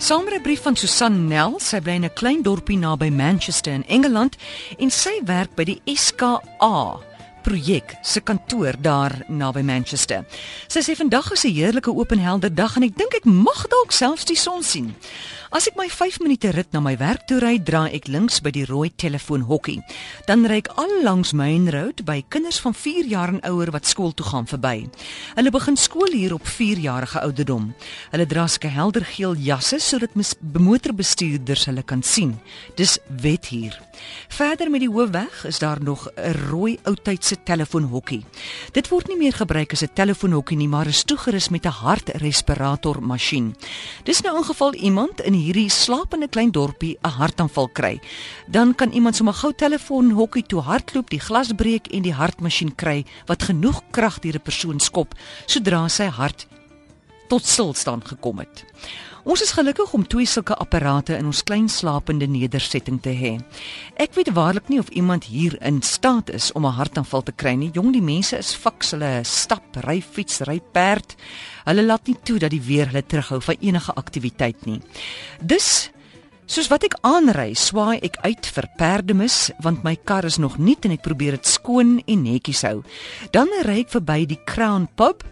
Saamrybrief van Susan Nel. Sy bly in 'n klein dorpie naby Manchester in Engeland en sy werk by die SKA projek se kantoor daar naby Manchester. Sy sê vandag is 'n heerlike oop en helder dag en ek dink ek mag dalk selfs die son sien. As ek my 5 minute rit na my werk toe ry, draai ek links by die rooi telefoonhokkie. Dan ry ek al langs Main Road by kinders van 4 jaar en ouer wat skool toe gaan verby. Hulle begin skool hier op 4-jarige ouderdom. Hulle dra sulke helder geel jasse sodat motorbestuurders hulle kan sien. Dis wet hier. Verder met die hoofweg is daar nog 'n rooi oudtydse telefoonhokkie. Dit word nie meer gebruik as 'n telefoonhokkie nie, maar is toegerus met 'n hartrespirator masjien. Dis nou in geval iemand in hierdie slapende klein dorpie 'n hartaanval kry. Dan kan iemand sommer gou telefoonhokkie toe hardloop, die glas breek en die hartmasjien kry wat genoeg krag deur 'n persoon skop sodra sy hart tot stilstand gekom het. Ons is gelukkig om 2 sulke apparate in ons klein slapende nedersetting te hê. Ek weet waarlik nie of iemand hier in staat is om 'n hartaanval te kry nie. Jong, die mense is fiks, hulle stap, ry fiets, ry perd. Hulle laat nie toe dat die weer hulle terughou van enige aktiwiteit nie. Dus soos wat ek aanry, swaai ek uit vir perdemis, want my kar is nog nuut en ek probeer dit skoon en netjies hou. Dan ry ek verby die Crown Pub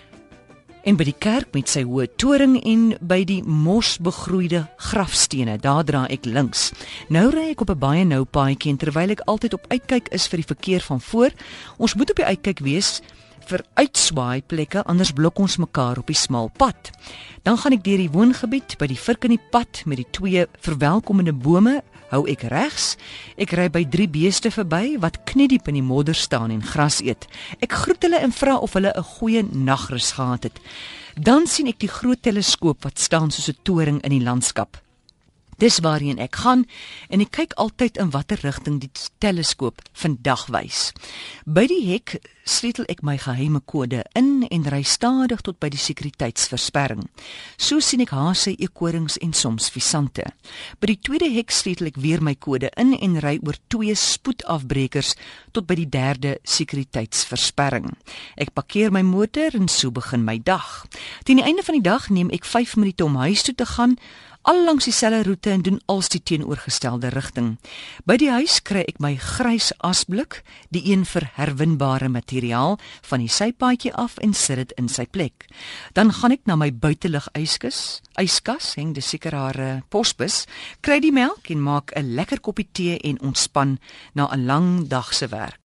en by die kerk met sy hoë toring en by die mosbegroeide grafstene, daar draai ek links. Nou ry ek op 'n baie nou paadjie en terwyl ek altyd op uitkyk is vir die verkeer van voor, ons moet op die uitkyk wees vir uitswaai plekke, anders blok ons mekaar op die smal pad. Dan gaan ek deur die woongebied by die vurk in die pad met die 2 verwelkomende bome, hou ek regs. Ek ry by 3 beeste verby wat kniediep in die modder staan en gras eet. Ek groet hulle en vra of hulle 'n goeie nagrus gehad het. Dan sien ek die groot teleskoop wat staan soos 'n toring in die landskap. Dis waarheen ek gaan en ek kyk altyd in watter rigting die teleskoop vandag wys. By die hek sleutel ek my geheime kode in en ry stadig tot by die sekuriteitsversperring. So sien ek hase, eekorings en soms visante. By die tweede hek sleutel ek weer my kode in en ry oor 2 spoedafbrekers tot by die 3de sekuriteitsversperring. Ek parkeer my motor en so begin my dag. Teen die einde van die dag neem ek 5 minute om huis toe te gaan, al langs dieselfde roete en doen als die teenoorgestelde rigting. By die huis kry ek my grys asblik, die een vir herwinbare materiaal, van die sypaadjie af en sit dit in sy plek. Dan gaan ek na my buitelug yskas, heng dis seker haar posbus, kry die melk en maak 'n lekker koppie tee en ontspan na 'n lang dag se werk.